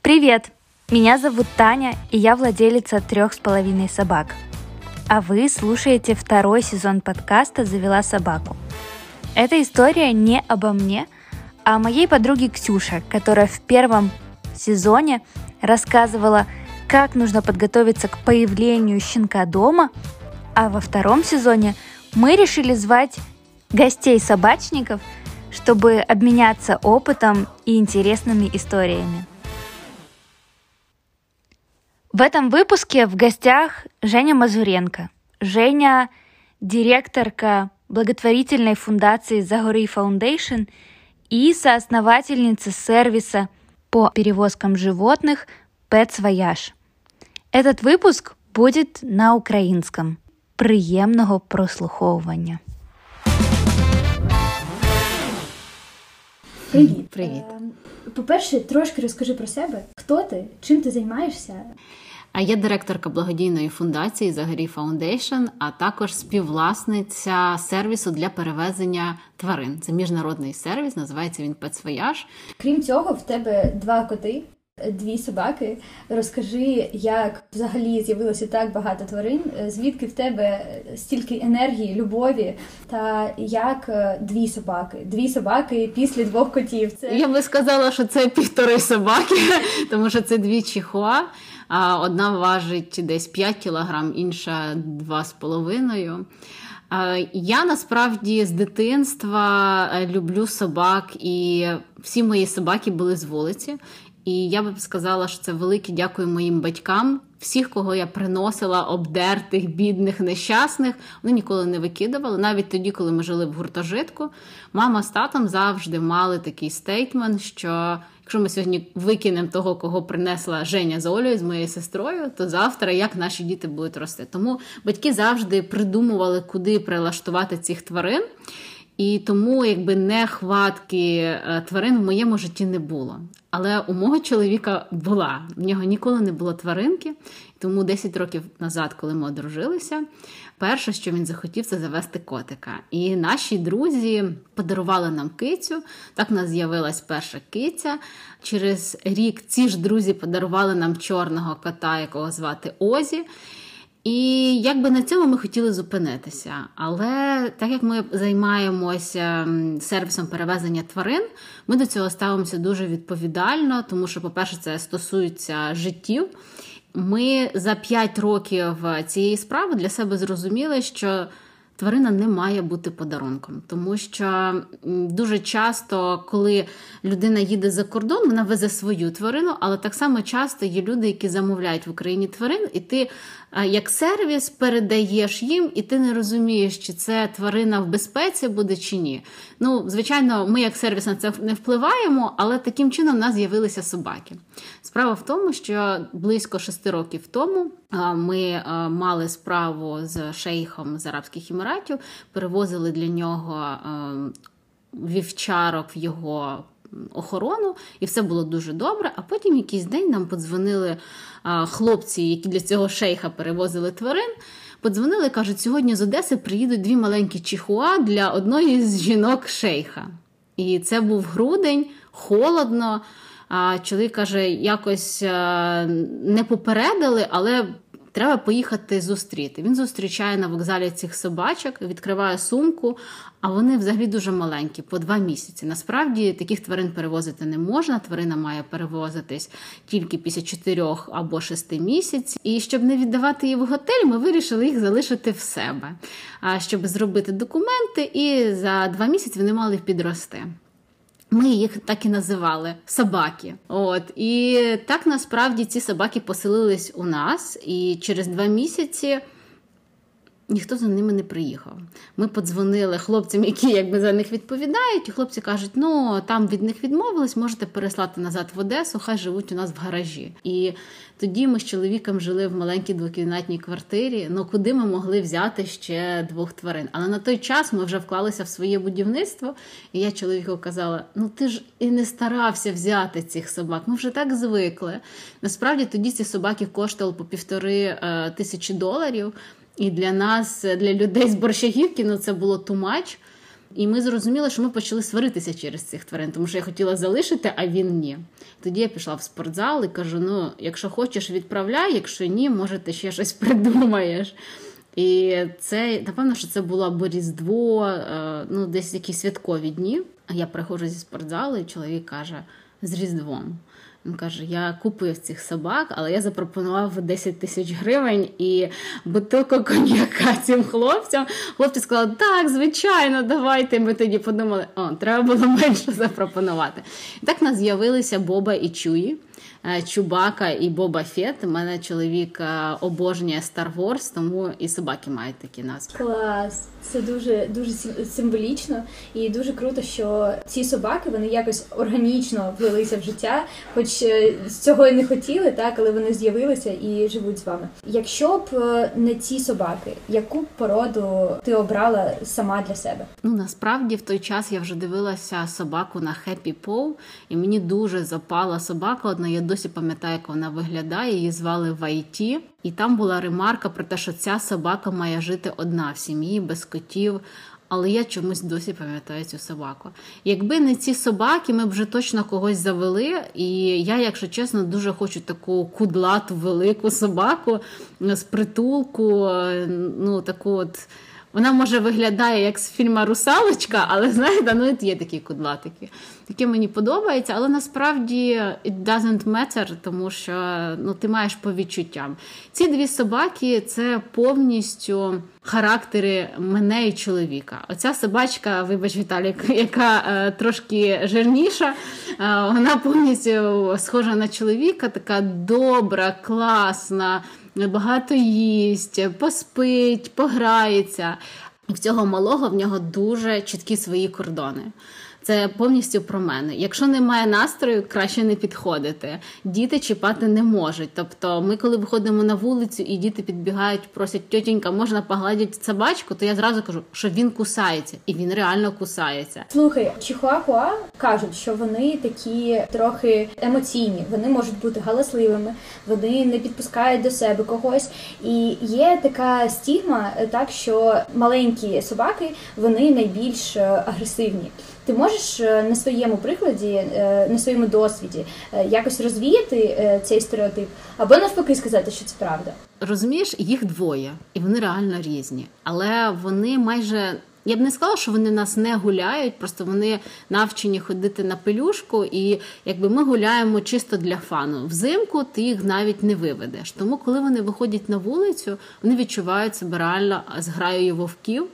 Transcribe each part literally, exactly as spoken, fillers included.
Привет! Меня зовут Таня, и я владелица трех с половиной собак. А вы слушаете второй сезон подкаста «Завела собаку». Эта история не обо мне, а о моей подруге Ксюше, которая в первом сезоне рассказывала, как нужно подготовиться к появлению щенка дома, а во втором сезоне мы решили звать гостей-собачников, чтобы обменяться опытом и интересными историями. В этом выпуске в гостях Женя Мазуренко. Женя – директорка благотворительной фундации «Загорий Foundation» и соосновательница сервиса по перевозкам животных Pets Voyage. Этот выпуск будет на українському. Приємного прослуховування. Привіт. Привіт. По-перше, трошки розкажи про себе. Хто ти? Чим ти займаєшся? Я директорка благодійної фундації «Загорій Foundation», а також співвласниця сервісу для перевезення тварин. Це міжнародний сервіс, називається він Pets Voyage. Крім цього, в тебе два коти, дві собаки. Розкажи, як взагалі з'явилося так багато тварин, звідки в тебе стільки енергії, любові, та як дві собаки. Дві собаки після двох котів. Це... Я би сказала, що це півтори собаки, тому що це дві чихуа. Одна важить десь п'ять кілограм, інша два з половиною. Я насправді з дитинства люблю собак, і всі мої собаки були з вулиці. І я б сказала, що це велике дякую моїм батькам. Всіх, кого я приносила, обдертих, бідних, нещасних, вони ніколи не викидували. Навіть тоді, коли ми жили в гуртожитку, мама з татом завжди мали такий стейтмент, що якщо ми сьогодні викинемо того, кого принесла Женя з Олею, з моєю сестрою, то завтра як наші діти будуть рости. Тому батьки завжди придумували, куди прилаштувати цих тварин. І тому якби нехватки тварин в моєму житті не було. Але у мого чоловіка була. В нього ніколи не було тваринки. Тому десять років назад, коли ми одружилися, перше, що він захотів, це завести котика. І наші друзі подарували нам кицю. Так у нас з'явилась перша киця. Через рік ці ж друзі подарували нам чорного кота, якого звати Озі. І якби на цьому ми хотіли зупинитися. Але так як ми займаємося сервісом перевезення тварин, ми до цього ставимося дуже відповідально, тому що, по-перше, це стосується життів. Ми за п'ять років цієї справи для себе зрозуміли, що тварина не має бути подарунком, тому що дуже часто, коли людина їде за кордон, вона везе свою тварину, але так само часто є люди, які замовляють в Україні тварин, і ти як сервіс передаєш їм, і ти не розумієш, чи це тварина в безпеці буде, чи ні. Ну, звичайно, ми як сервіс на це не впливаємо, але таким чином в нас з'явилися собаки. Справа в тому, що близько шести років тому ми мали справу з шейхом з Арабських Еміратів, перевозили для нього вівчарок в його охорону, і все було дуже добре. А потім якийсь день нам подзвонили хлопці, які для цього шейха перевозили тварин, подзвонили і кажуть, сьогодні з Одеси приїдуть дві маленькі чихуа для одної з жінок шейха. І це був грудень, холодно. Чоловік каже, якось не попередили, але треба поїхати зустріти. Він зустрічає на вокзалі цих собачок, відкриває сумку, а вони взагалі дуже маленькі, по два місяці. Насправді таких тварин перевозити не можна, тварина має перевозитись тільки після чотирьох або шести місяців. І щоб не віддавати їх в готель, ми вирішили їх залишити в себе, щоб зробити документи, і за два місяці вони мали підрости. Ми їх так і називали – собаки. От. І так насправді ці собаки поселились у нас, і через два місяці ніхто за ними не приїхав. Ми подзвонили хлопцям, які якби за них відповідають, і хлопці кажуть, ну, там від них відмовились, можете переслати назад в Одесу, хай живуть у нас в гаражі. І тоді ми з чоловіком жили в маленькій двокімнатній квартирі, ну куди ми могли взяти ще двох тварин? Але на той час ми вже вклалися в своє будівництво, і я чоловіку казала, ну ти ж і не старався взяти цих собак, ми вже так звикли. Насправді тоді ці собаки коштували по півтори е, тисячі доларів, і для нас, для людей з Борщагівки, ну це було too much. І ми зрозуміли, що ми почали сваритися через цих тварин, тому що я хотіла залишити, а він ні. Тоді я пішла в спортзал і кажу, ну, якщо хочеш, відправляй, якщо ні, може, ти ще щось придумаєш. І це, напевно, що це було або Різдво, ну, десь якісь святкові дні. А я приходжу зі спортзалу, і чоловік каже, з Різдвом. Він каже, я купив цих собак, але я запропонував десять тисяч гривень і бутилку коньяка цим хлопцям. Хлопці сказали, так, звичайно, давайте. Ми тоді подумали, о, треба було менше запропонувати. І так в нас з'явилися Боба і Чуї. Чубака і Боба Фет. У мене чоловік обожнює Star Wars, тому і собаки мають такі назви. Клас! Це дуже, дуже символічно і дуже круто, що ці собаки, вони якось органічно влилися в життя, хоч з цього і не хотіли, так, але вони з'явилися і живуть з вами. Якщо б не ці собаки, яку б породу ти обрала сама для себе? Ну, насправді, в той час я вже дивилася собаку на Happy Paw, і мені дуже запала собака одна, я досі пам'ятаю, як вона виглядає, її звали Вайті. І там була ремарка про те, що ця собака має жити одна в сім'ї, без котів. Але я чомусь досі пам'ятаю цю собаку. Якби не ці собаки, ми б вже точно когось завели. І я, якщо чесно, дуже хочу таку кудлату, велику собаку з притулку, ну, таку от... Вона, може, виглядає як з фільму «Русалочка», але, знаєте, ну, є такі кудлатики. Таке мені подобається, але насправді it doesn't matter, тому що ну, ти маєш по відчуттям. Ці дві собаки – це повністю характери мене і чоловіка. Оця собачка, вибач, Віталік, яка е, трошки жирніша, е, вона повністю схожа на чоловіка, така добра, класна, багато їсть, поспить, пограється. В цього малого в нього дуже чіткі свої кордони. Це повністю про мене. Якщо немає настрою, краще не підходити. Діти чіпати не можуть. Тобто ми, коли виходимо на вулицю і діти підбігають, просять, тьотенька, можна погладити собачку, то я зразу кажу, що він кусається. І він реально кусається. Слухай, чихуахуа кажуть, що вони такі трохи емоційні. Вони можуть бути галасливими, вони не підпускають до себе когось. І є така стігма, так, що маленькі собаки, вони найбільш агресивні. Ти можеш на своєму прикладі, на своєму досвіді якось розвіяти цей стереотип? Або навпаки сказати, що це правда? Розумієш, їх двоє, і вони реально різні. Але вони майже... Я б не сказала, що вони нас не гуляють, просто вони навчені ходити на пелюшку, і якби ми гуляємо чисто для фану. Взимку ти їх навіть не виведеш. Тому, коли вони виходять на вулицю, вони відчувають себе реально зграєю вовків.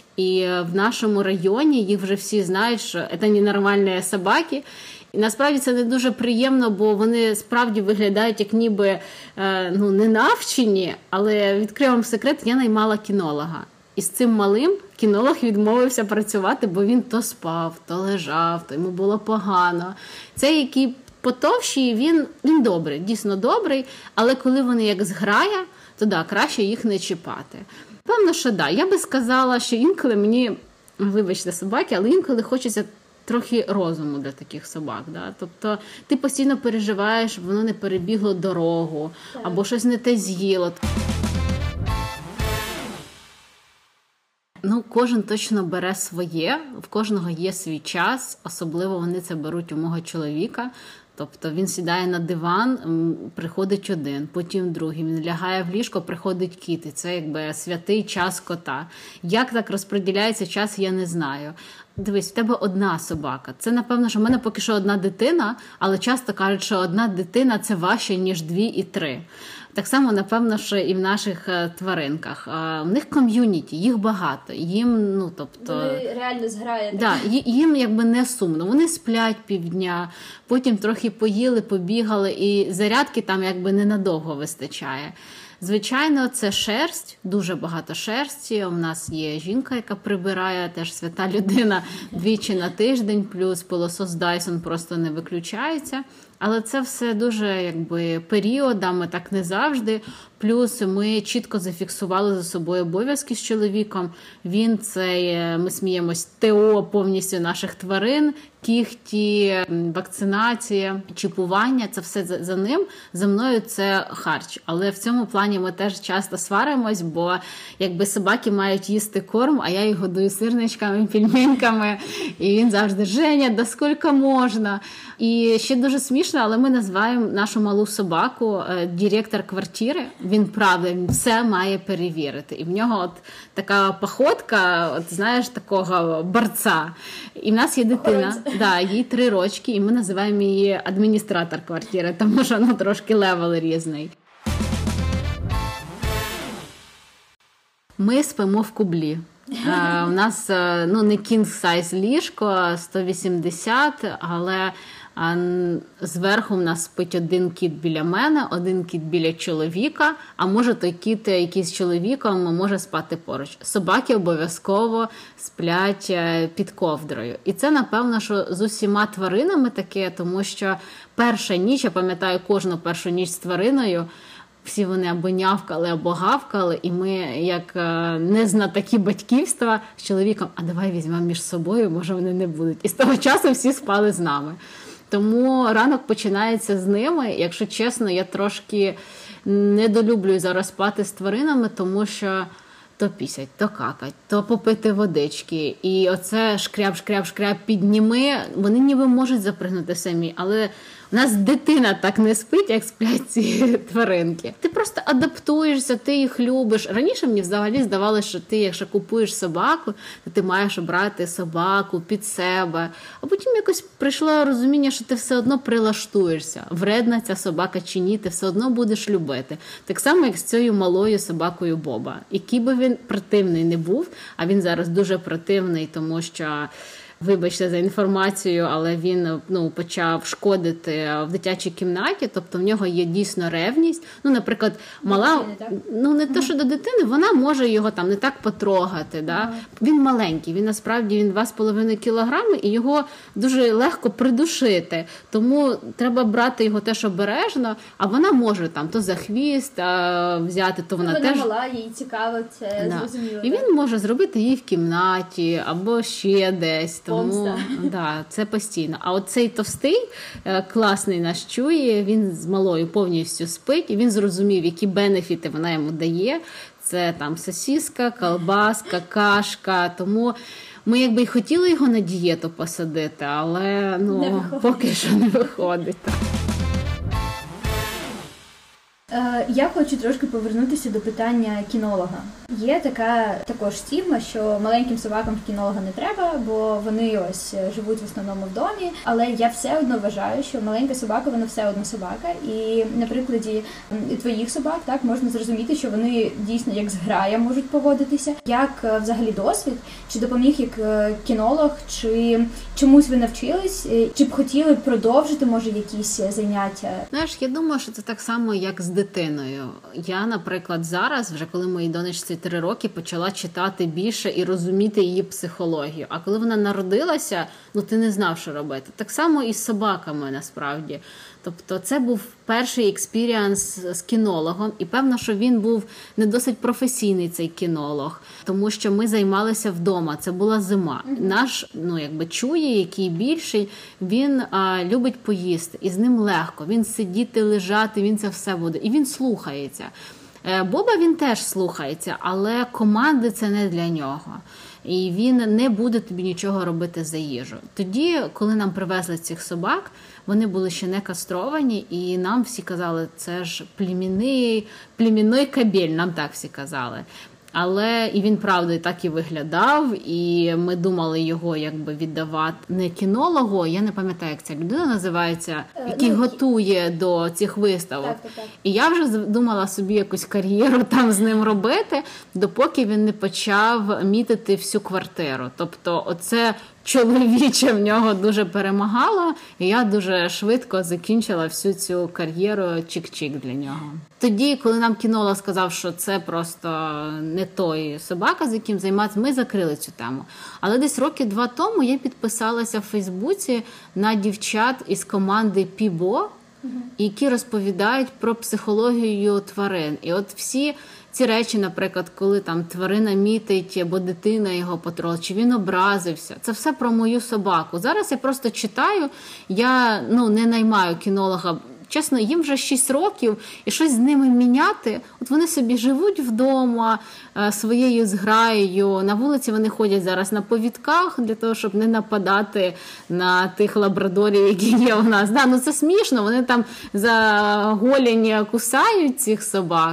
І в нашому районі їх вже всі знають, що це ненормальні собаки. І насправді це не дуже приємно, бо вони справді виглядають як ніби ну, не навчені, але відкрию вам секрет, я наймала кінолога. І з цим малим кінолог відмовився працювати, бо він то спав, то лежав, то йому було погано. Цей, який потовщий, він, він добрий, дійсно добрий, але коли вони як зграя, то да, краще їх не чіпати. Певно, що да. Я би сказала, що інколи мені, вибачте, собаки, але інколи хочеться трохи розуму для таких собак. Да? Тобто ти постійно переживаєш, щоб воно не перебігло дорогу, так, або щось не те з'їло. Ну, кожен точно бере своє, в кожного є свій час, особливо вони це беруть у мого чоловіка. Тобто він сідає на диван, приходить один, потім другий, він лягає в ліжко, приходить кіт. І це якби святий час кота. Як так розподіляється час, я не знаю. Дивись, в тебе одна собака. Це, напевно, що в мене поки що одна дитина, але часто кажуть, що одна дитина – це важче, ніж дві і три. Так само, напевно, що і в наших тваринках. У них ком'юніті, їх багато. Їм, ну, тобто... Вони реально зграють. Да, їм якби не сумно. Вони сплять півдня, потім трохи поїли, побігали, і зарядки там якби ненадовго вистачає. Звичайно, це шерсть, дуже багато шерсті. У нас є жінка, яка прибирає, теж свята людина, двічі на тиждень, плюс пилосос Dyson просто не виключається. Але це все дуже якби періодами, так не завжди. Плюс ми чітко зафіксували за собою обов'язки з чоловіком. Він це, ми сміємось, ТО повністю наших тварин, кіхті, вакцинація, чіпування, це все за, за ним. За мною це харч. Але в цьому плані ми теж часто сваримось, бо якби собаки мають їсти корм, а я їх годую сирничками, пельменьками. І він завжди: Женя, да скільки можна? І ще дуже смішно, але ми називаємо нашу малу собаку директор квартири. Він, правда, він все має перевірити. І в нього от така походка, от знаєш, такого борця. І в нас є дитина, да, їй три рочки, і ми називаємо її адміністратор квартири, тому що ну, трошки левел різний. Ми спимо в кублі. Uh, у нас ну, не кінг-сайз ліжко, сто вісімдесят, але uh, зверху в нас спить один кіт біля мене, один кіт біля чоловіка, а може той кіт, який з чоловіком, може спати поруч. Собаки обов'язково сплять під ковдрою. І це, напевно, що з усіма тваринами таке, тому що перша ніч, я пам'ятаю кожну першу ніч з твариною, всі вони або нявкали, або гавкали, і ми, як незнатоки батьківства, з чоловіком: а давай візьмемо між собою, може вони не будуть. І з того часу всі спали з нами. Тому ранок починається з ними. Якщо чесно, я трошки недолюблюю зараз спати з тваринами, тому що то пісять, то какать, то попити водички. І оце шкряб-шкряб-шкряб підніми, вони ніби можуть запригнути самі, але у нас дитина так не спить, як сплять ці тваринки. Ти просто адаптуєшся, ти їх любиш. Раніше мені взагалі здавалося, що ти, якщо купуєш собаку, то ти маєш обрати собаку під себе. А потім якось прийшло розуміння, що ти все одно прилаштуєшся. Вредна ця собака чи ні, ти все одно будеш любити. Так само, як з цією малою собакою Боба. Який би він противний не був, а він зараз дуже противний, тому що... Вибачте за інформацію, але він ну, почав шкодити в дитячій кімнаті, тобто в нього є дійсно ревність. Ну, наприклад, мала, дитини, ну не те, що до дитини, вона може його там не так потрогати. Да? Ага. Він маленький, він насправді він два з половиною кілограми, і його дуже легко придушити. Тому треба брати його теж обережно, а вона може там то за хвіст а, взяти, то вона, вона теж... Вона мала, їй цікаво, це да. Зрозуміло. І він може зробити її в кімнаті або ще десь. Тому да, це постійно. А от цей товстий, класний наш чує, він з малою повністю спить, і він зрозумів, які бенефіти вона йому дає. Це там сосиска, колбаска, кашка. Тому ми якби й хотіли його на дієту посадити, але ну, поки що не виходить. Я хочу трошки повернутися до питання кінолога. Є така також стігма, що маленьким собакам кінолога не треба, бо вони ось живуть в основному в домі. Але я все одно вважаю, що маленька собака, вона все одно собака. І на прикладі твоїх собак так можна зрозуміти, що вони дійсно як зграя можуть поводитися. Як взагалі досвід? Чи допоміг як кінолог, чи чомусь ви навчились? Чи б хотіли продовжити, може, якісь заняття? Знаєш, я думаю, що це так само, як з дитиною. Я, наприклад, зараз, вже коли моїй донечці три роки, почала читати більше і розуміти її психологію. А коли вона народилася, ну ти не знав, що робити. Так само і з собаками, насправді. Тобто це був перший експіріанс з кінологом, і певно, що він був не досить професійний, цей кінолог, тому що ми займалися вдома, це була зима. Mm-hmm. Наш, ну, якби чує, який більший, він а, любить поїсти, і з ним легко, він сидіти, лежати, він це все буде, і він слухається. Боба він теж слухається, але команди це не для нього. І він не буде тобі нічого робити за їжу. Тоді, коли нам привезли цих собак, вони були ще не кастровані, і нам всі казали, це ж племінний, племінний кабель, нам так всі казали. Але і він, правда, так і виглядав, і ми думали його якби віддавати не кінологу, я не пам'ятаю, як ця людина називається, який ну, готує до цих виставок. Так, так, так. І я вже думала собі якусь кар'єру там з ним робити, допоки він не почав мітити всю квартиру. Тобто оце чоловіче в нього дуже перемагало, і я дуже швидко закінчила всю цю кар'єру чик-чик для нього. Тоді, коли нам кінолог сказав, що це просто не той собака, з яким займатися, ми закрили цю тему. Але десь роки два тому я підписалася в Фейсбуці на дівчат із команди Пібо, які розповідають про психологію тварин. І от всі ці речі, наприклад, коли там тварина мітить або дитина його потрогала, чи він образився, це все про мою собаку. Зараз я просто читаю, я ну, не наймаю кінолога. Чесно, їм вже шість років, і щось з ними міняти. От вони собі живуть вдома своєю зграєю. На вулиці вони ходять зараз на повідках для того, щоб не нападати на тих лабрадорів, які є у нас. Да, ну це смішно, вони там за голінь кусають цих собак.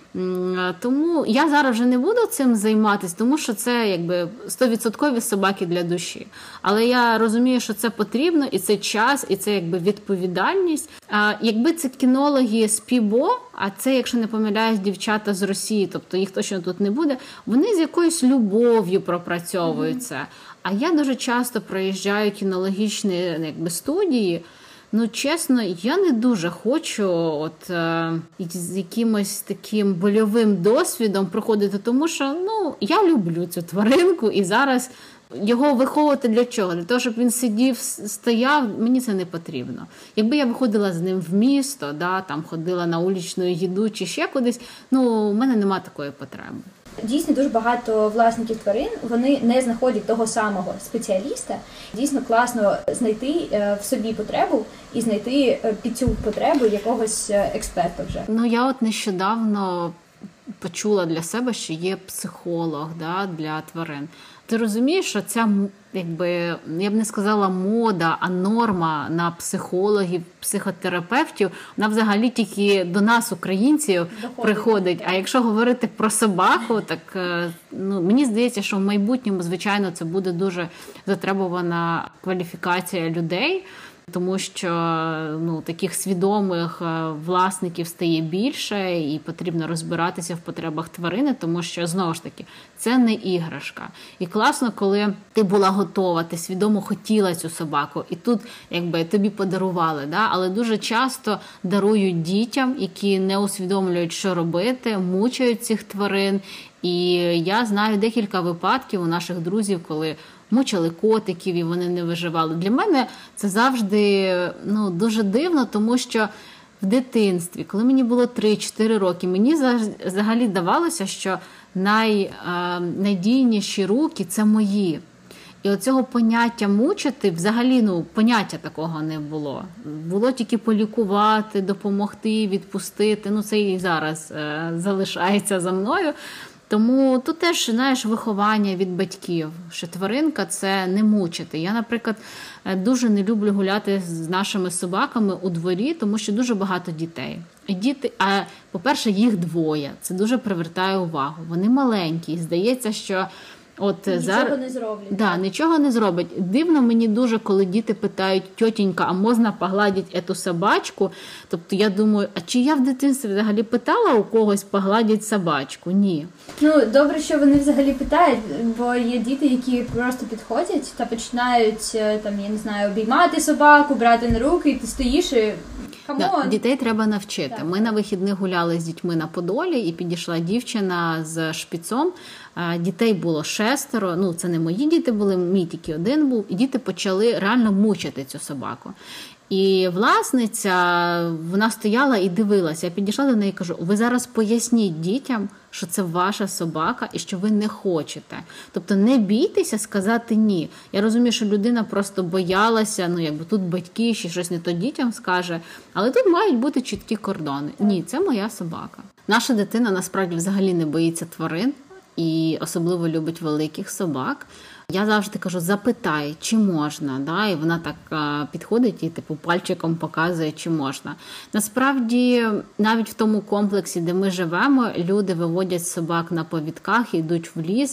Тому я зараз вже не буду цим займатися, тому що це якби сто відсотків собаки для душі. Але я розумію, що це потрібно, і це час, і це якби відповідальність. А якби це кінологи з Пібо, а це, якщо не помиляюсь, дівчата з Росії, тобто їх точно тут не буде, вони з якоюсь любов'ю пропрацьовують це. Mm-hmm. А я дуже часто проїжджаю кінологічні якби, студії. Ну, чесно, я не дуже хочу от, е, з якимось таким больовим досвідом проходити, тому що, ну, я люблю цю тваринку, і зараз його виховувати для чого? Для того, щоб він сидів, стояв, мені це не потрібно. Якби я виходила з ним в місто, да, там ходила на уличну їду чи ще кудись, ну, в мене немає такої потреби. Дійсно, дуже багато власників тварин, вони не знаходять того самого спеціаліста. Дійсно класно знайти в собі потребу і знайти під цю потребу якогось експерта вже. Ну, я от нещодавно почула для себе, що є психолог, да, для тварин. Ти розумієш, що ця, якби, я б не сказала мода, а норма на психологів, психотерапевтів, вона взагалі тільки до нас, українців, доходить. Приходить. А якщо говорити про собаку, так ну, мені здається, що в майбутньому, звичайно, це буде дуже затребувана кваліфікація людей, тому що ну, таких свідомих власників стає більше і потрібно розбиратися в потребах тварини, тому що, знову ж таки, це не іграшка. І класно, коли ти була готова, ти свідомо хотіла цю собаку, і тут якби тобі подарували, да? Але дуже часто дарують дітям, які не усвідомлюють, що робити, мучають цих тварин. І я знаю декілька випадків у наших друзів, коли мучили котиків і вони не виживали. Для мене це завжди ну, дуже дивно, тому що в дитинстві, коли мені було три-чотири роки, мені взагалі здавалося, що найнадійніші руки – це мої. І оцього поняття мучити, взагалі, ну, поняття такого не було. Було тільки полікувати, допомогти, відпустити. Ну, це і зараз е, залишається за мною. Тому тут теж, знаєш, виховання від батьків, що тваринка – це не мучити. Я, наприклад, дуже не люблю гуляти з нашими собаками у дворі, тому що дуже багато дітей. І діти, а, по-перше, їх двоє. Це дуже привертає увагу. Вони маленькі. І здається, що от нічого зараз не зроблять. Да, нічого не зроблять. Дивно мені дуже, коли діти питають: тьотенька, а можна погладити ету собачку? Тобто я думаю, а чи я в дитинстві взагалі питала у когось погладити собачку? Ні. Ну, добре, що вони взагалі питають, бо є діти, які просто підходять та починають, там, я не знаю, обіймати собаку, брати на руки, і ти стоїш і... Да, дітей треба навчити. Так. Ми на вихідних гуляли з дітьми на Подолі, і підійшла дівчина з шпіцом. Дітей було шестеро, ну це не мої діти були, мій тільки один був. І діти почали реально мучити цю собаку. І власниця, вона стояла і дивилася. Я підійшла до неї і кажу: ви зараз поясніть дітям, що це ваша собака і що ви не хочете. Тобто не бійтеся сказати ні. Я розумію, що людина просто боялася, ну якби тут батьки ще щось не то дітям скаже, але тут мають бути чіткі кордони. Ні, це моя собака. Наша дитина насправді взагалі не боїться тварин і особливо любить великих собак. Я завжди кажу: запитай, чи можна, да? І вона так а, підходить і типу пальчиком показує, чи можна. Насправді, навіть в тому комплексі, де ми живемо, люди виводять собак на повідках, йдуть в ліс,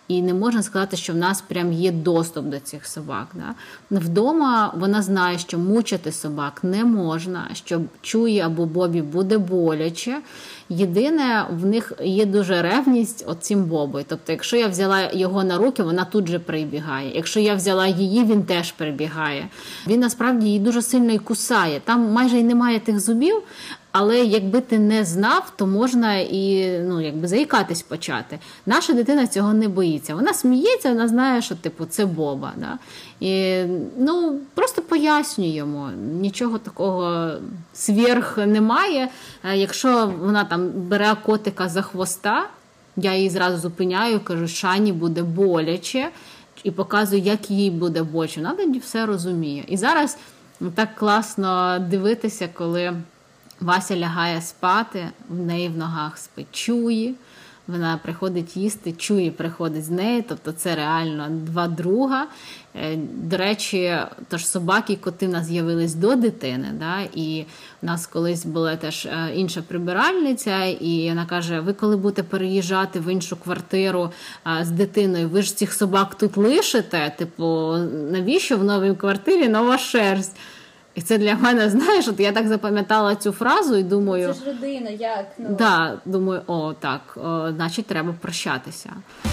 І не можна сказати, що в нас прям є доступ до цих собак. Да? Вдома вона знає, що мучити собак не можна, що Чуї або Бобі буде боляче. Єдине, в них є дуже ревність оцім Бобою. Тобто, якщо я взяла його на руки, вона тут же прибігає. Якщо я взяла її, він теж прибігає. Він насправді її дуже сильно і кусає. Там майже й немає тих зубів, але якби ти не знав, то можна і ну, якби заїкатись почати. Наша дитина цього не боїться. Вона сміється, вона знає, що типу, це Боба. Да? І, ну, просто пояснюємо. Нічого такого сверх немає. Якщо вона там бере котика за хвоста, я її зразу зупиняю, кажу, Шані буде боляче, і показую, як їй буде боляче. Вона тоді все розуміє. І зараз так класно дивитися, коли Вася лягає спати, в неї в ногах спить Чуї, вона приходить їсти, Чуї приходить з нею, тобто це реально два друга. До речі, тож собаки і коти в нас з'явились до дитини, да? І в нас колись була теж інша прибиральниця, і вона каже, ви коли будете переїжджати в іншу квартиру з дитиною, ви ж цих собак тут лишите? Типу, навіщо в новій квартирі нова шерсть? І це для мене, знаєш, от я так запам'ятала цю фразу і думаю... Це ж родина, як? Ну... Да, думаю, о, так, о, значить, треба прощатися.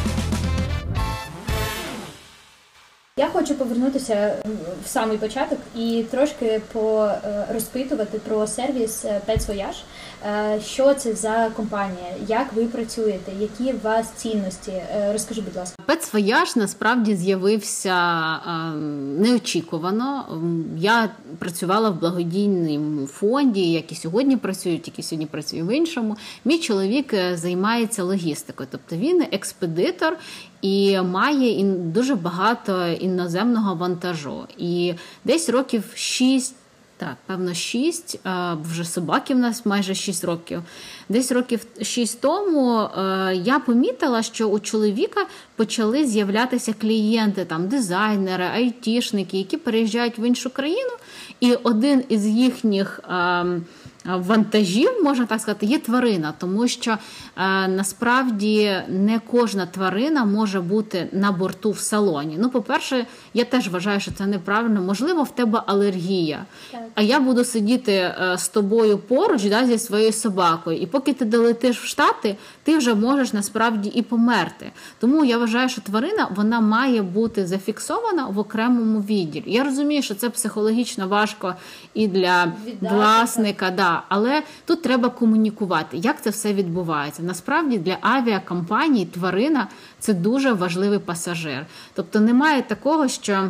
Я хочу повернутися в самий початок і трошки порозпитувати про сервіс Pets Voyage. Що це за компанія? Як ви працюєте? Які у вас цінності? Розкажи, будь ласка. Pets Voyage насправді з'явився неочікувано. Я працювала в благодійному фонді, як і сьогодні працюю, тільки сьогодні працюю в іншому. Мій чоловік займається логістикою, тобто він експедитор і має дуже багато іноземного вантажу. І десь років шість, так, певно, шість, вже собаки в нас майже шість років. Десь років шість тому я помітила, що у чоловіка почали з'являтися клієнти, там, дизайнери, айтішники, які переїжджають в іншу країну, і один із їхніх вантажів, можна так сказати, є тварина, тому що е, насправді не кожна тварина може бути на борту в салоні. Ну, по-перше, я теж вважаю, що це неправильно. Можливо, в тебе алергія, так. А я буду сидіти е, з тобою поруч, да, зі своєю собакою, і поки ти долетиш в Штати, ти вже можеш насправді і померти. Тому я вважаю, що тварина, вона має бути зафіксована в окремому відділі. Я розумію, що це психологічно важко і для Віддати, власника, да. Але тут треба комунікувати, як це все відбувається. Насправді для авіакомпаній тварина – це дуже важливий пасажир. Тобто немає такого, що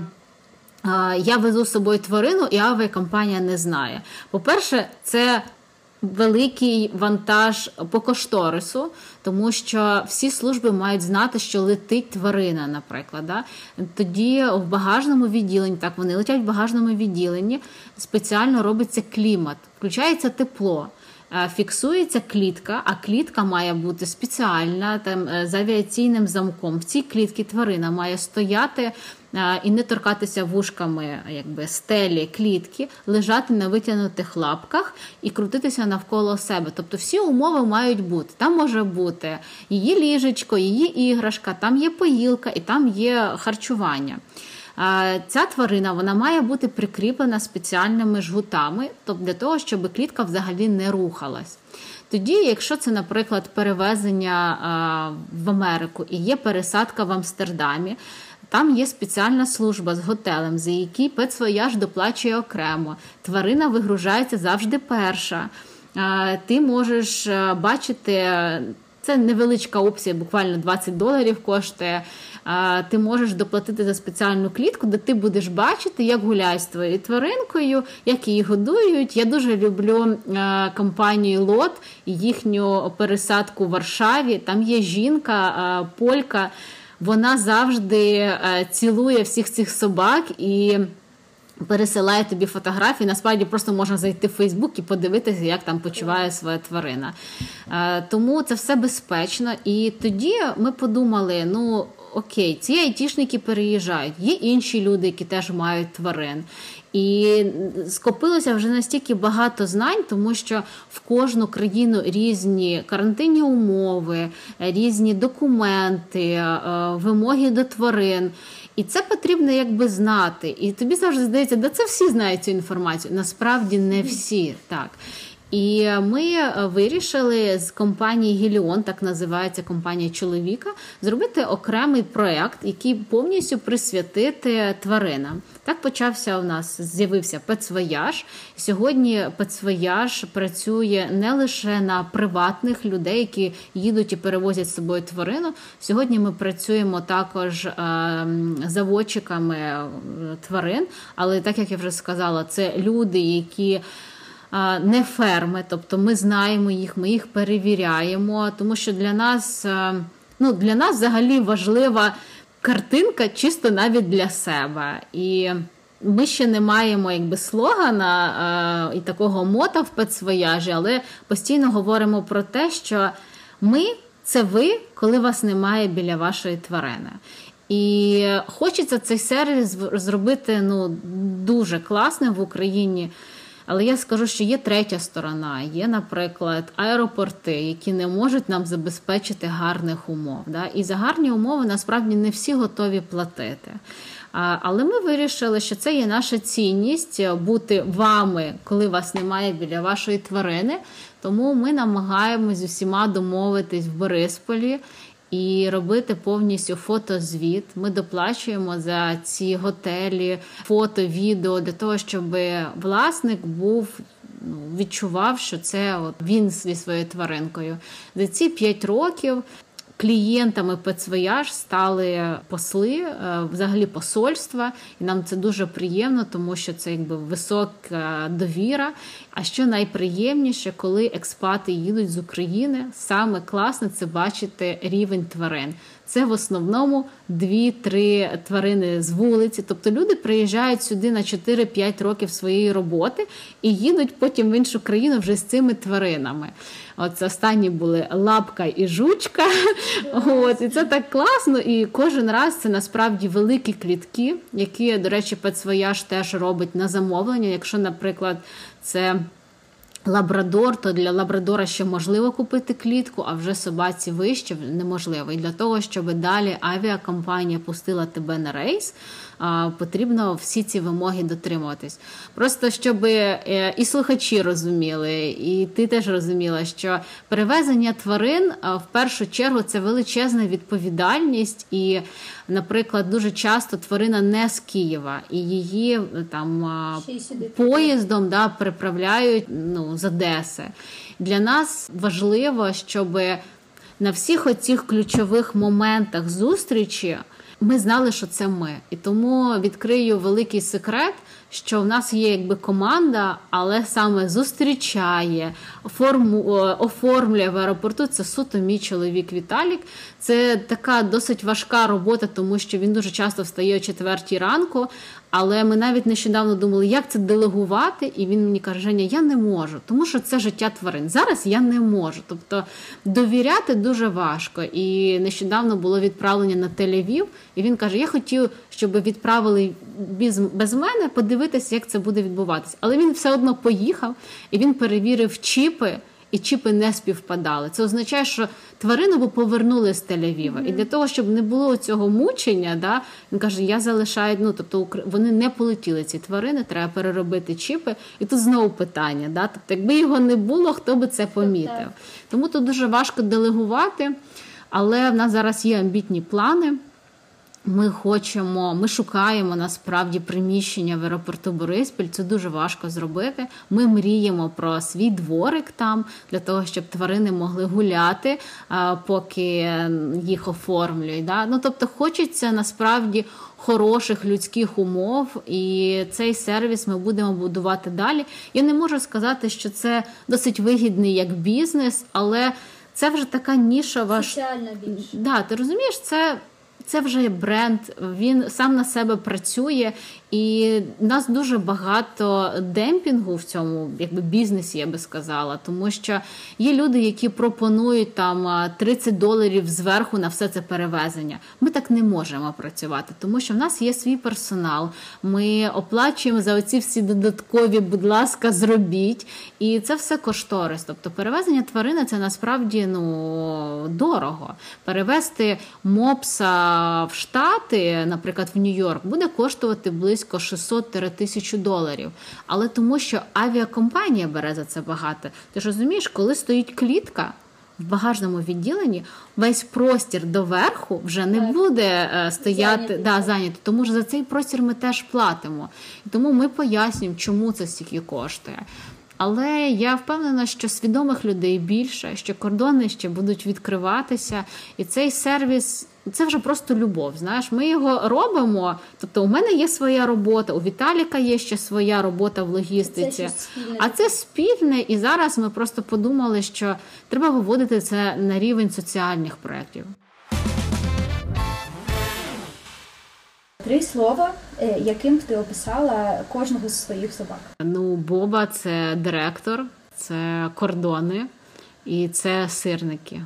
а, я везу з собою тварину і авіакомпанія не знає. По-перше, це великий вантаж по кошторису, тому що всі служби мають знати, що летить тварина, наприклад. Да? Тоді в багажному відділенні, так, вони летять в багажному відділенні, спеціально робиться клімат, включається тепло, фіксується клітка, а клітка має бути спеціальна, там, з авіаційним замком. В цій клітці тварина має стояти і не торкатися вушками якби, стелі, клітки, лежати на витягнутих лапках і крутитися навколо себе. Тобто всі умови мають бути. Там може бути її ліжечко, її іграшка, там є поїлка і там є харчування. Ця тварина, вона має бути прикріплена спеціальними жгутами, тобто для того, щоб клітка взагалі не рухалась. Тоді, якщо це, наприклад, перевезення в Америку і є пересадка в Амстердамі, там є спеціальна служба з готелем, за який Pets Voyage доплачує окремо. Тварина вигружається завжди перша. Ти можеш бачити, це невеличка опція, буквально двадцять доларів коштує. Ти можеш доплатити за спеціальну клітку, де ти будеш бачити, як гуляють з твоєю тваринкою, як її годують. Я дуже люблю компанію Лот і їхню пересадку в Варшаві. Там є жінка, полька, вона завжди цілує всіх цих собак і пересилає тобі фотографії. Насправді просто можна зайти в Фейсбук і подивитися, як там почуває своя тварина. Тому це все безпечно. І тоді ми подумали, ну, окей, ці айтішники переїжджають, є інші люди, які теж мають тварин. І скопилося вже настільки багато знань, тому що в кожну країну різні карантинні умови, різні документи, вимоги до тварин. І це потрібно якби знати. І тобі завжди здається, да це всі знають цю інформацію. Насправді не всі, так. І ми вирішили з компанії «Геліон», так називається компанія чоловіка, зробити окремий проєкт, який повністю присвятити тваринам. Так почався у нас, з'явився Петсвояж. Сьогодні Петсвояж працює не лише на приватних людей, які їдуть і перевозять з собою тварину. Сьогодні ми працюємо також е, заводчиками тварин, але так, як я вже сказала, це люди, які не ферми, тобто ми знаємо їх, ми їх перевіряємо, тому що для нас, ну, для нас взагалі важлива картинка чисто навіть для себе. І ми ще не маємо якби слогана і такого мота в Петсвояжі, але постійно говоримо про те, що ми – це ви, коли вас немає біля вашої тварини. І хочеться цей сервіс зробити ну, дуже класним в Україні. Але я скажу, що є третя сторона. Є, наприклад, аеропорти, які не можуть нам забезпечити гарних умов. Да? І за гарні умови, насправді, не всі готові платити. Але ми вирішили, що це є наша цінність – бути вами, коли вас немає біля вашої тварини. Тому ми намагаємось з усіма домовитись в Борисполі і робити повністю фотозвіт. Ми доплачуємо за ці готелі, фото, відео, для того, щоб власник був, ну, відчував, що це от він зі своєю тваринкою. За ці п'ять років клієнтами Петсвояж стали посли, взагалі посольства, і нам це дуже приємно, тому що це якби висока довіра. А що найприємніше, коли експати їдуть з України, саме класно це бачити рівень тварин. Це в основному дві-три тварини з вулиці. Тобто люди приїжджають сюди на чотири-п'ять років своєї роботи і їдуть потім в іншу країну вже з цими тваринами. От останні були лапка і жучка. От, і це так класно. І кожен раз це насправді великі клітки, які, до речі, Петсвояж теж робить на замовлення. Якщо, наприклад, це лабрадор, то для лабрадора ще можливо купити клітку, а вже собаці вище неможливо. І для того, щоб далі авіакомпанія пустила тебе на рейс, потрібно всі ці вимоги дотримуватись. Просто, щоб і слухачі розуміли, і ти теж розуміла, що перевезення тварин, в першу чергу, це величезна відповідальність. І, наприклад, дуже часто тварина не з Києва, і її там поїздом да, переправляють ну, з Одеси. Для нас важливо, щоб на всіх оцих ключових моментах зустрічі ми знали, що це ми. І тому відкрию великий секрет, що в нас є якби команда, але саме зустрічає, форму, оформлює в аеропорту. Це суто мій чоловік Віталік. Це така досить важка робота, тому що він дуже часто встає о четвертій ранку, але ми навіть нещодавно думали, як це делегувати, і він мені каже: Женя, я не можу, тому що це життя тварин. Зараз я не можу. Тобто довіряти дуже важко. І нещодавно було відправлення на Тель-Авів, і він каже, я хотів, щоб відправили без, без мене, подивитися, як це буде відбуватися. Але він все одно поїхав, і він перевірив чіпи, і чіпи не співпадали. Це означає, що тварину б повернули з Тель-Авіва. Mm-hmm. І для того, щоб не було цього мучення, да, він каже, я залишаю, ну, тобто вони не полетіли, ці тварини, треба переробити чіпи. І тут знову питання, да, тобто якби його не було, хто би це помітив. Mm-hmm. Тому тут дуже важко делегувати, але в нас зараз є амбітні плани. Ми хочемо, ми шукаємо насправді приміщення в аеропорту Бориспіль, це дуже важко зробити. Ми мріємо про свій дворик там, для того, щоб тварини могли гуляти, поки їх оформлюють. Да? Ну, тобто хочеться насправді хороших людських умов, і цей сервіс ми будемо будувати далі. Я не можу сказати, що це досить вигідний як бізнес, але це вже така нішова... Соціальна більш. Да, ти розумієш, це... Це вже бренд, він сам на себе працює, І в нас дуже багато демпінгу в цьому якби бізнесі, я би сказала, тому що є люди, які пропонують там тридцять доларів зверху на все це перевезення. Ми так не можемо працювати, тому що в нас є свій персонал, ми оплачуємо за оці всі додаткові, будь ласка, зробіть, і це все кошторис. Тобто перевезення тварини – це насправді ну, дорого. Перевезти мопса в Штати, наприклад, в Нью-Йорк, буде коштувати близько шістсот - тисячу доларів. Але тому, що авіакомпанія бере за це багато. Ти ж розумієш, коли стоїть клітка в багажному відділенні, весь простір доверху вже не так. буде е, стояти, зайнятий. Да, зайнятий. Тому що за цей простір ми теж платимо. І тому ми пояснюємо, чому це стільки коштує. Але я впевнена, що свідомих людей більше, що кордони ще будуть відкриватися. І цей сервіс – це вже просто любов, знаєш. Ми його робимо, тобто у мене є своя робота, у Віталіка є ще своя робота в логістиці. Це а це спільне, і зараз ми просто подумали, що треба виводити це на рівень соціальних проєктів. Три слова, яким б ти описала кожного з своїх собак? Ну, Боба – це директор, це кордони і це сирники.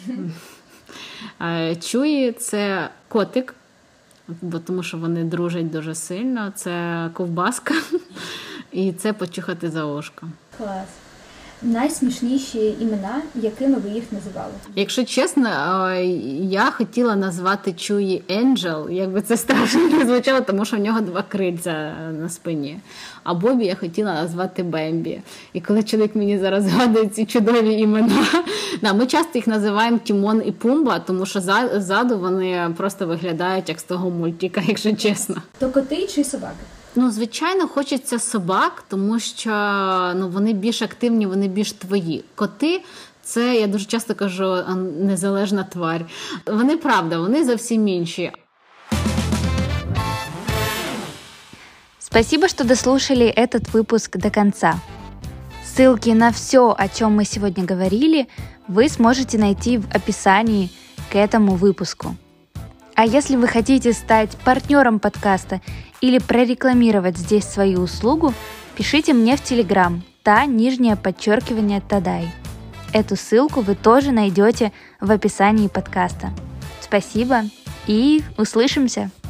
Чуї – це котик, бо тому що вони дружать дуже сильно, це ковбаска і це почухати за ушко. Клас. Найсмішніші імена, якими ви їх називали? Якщо чесно, я хотіла назвати Чуї Енджел, якби це страшно не звучало, тому що в нього два крильця на спині. А Бобі я хотіла назвати Бембі. І коли чоловік мені зараз згадує ці чудові імена, да, ми часто їх називаємо Тімон і Пумба, тому що ззаду вони просто виглядають як з того мультика, якщо чесно. То коти чи собаки? Ну, звичайно, хочеться собак, тому що ну, вони більш активні, вони більш твої. Коти – це, я дуже часто кажу, незалежна тварь. Вони, правда, вони зовсім інші. Спасибо, что дослушали этот выпуск до конца. Ссылки на все, о чем мы сегодня говорили, вы сможете найти в описании к этому выпуску. А если вы хотите стать партнером подкаста или прорекламировать здесь свою услугу, пишите мне в Телеграм, та нижнее подчеркивание Тадай. Эту ссылку вы тоже найдете в описании подкаста. Спасибо и услышимся!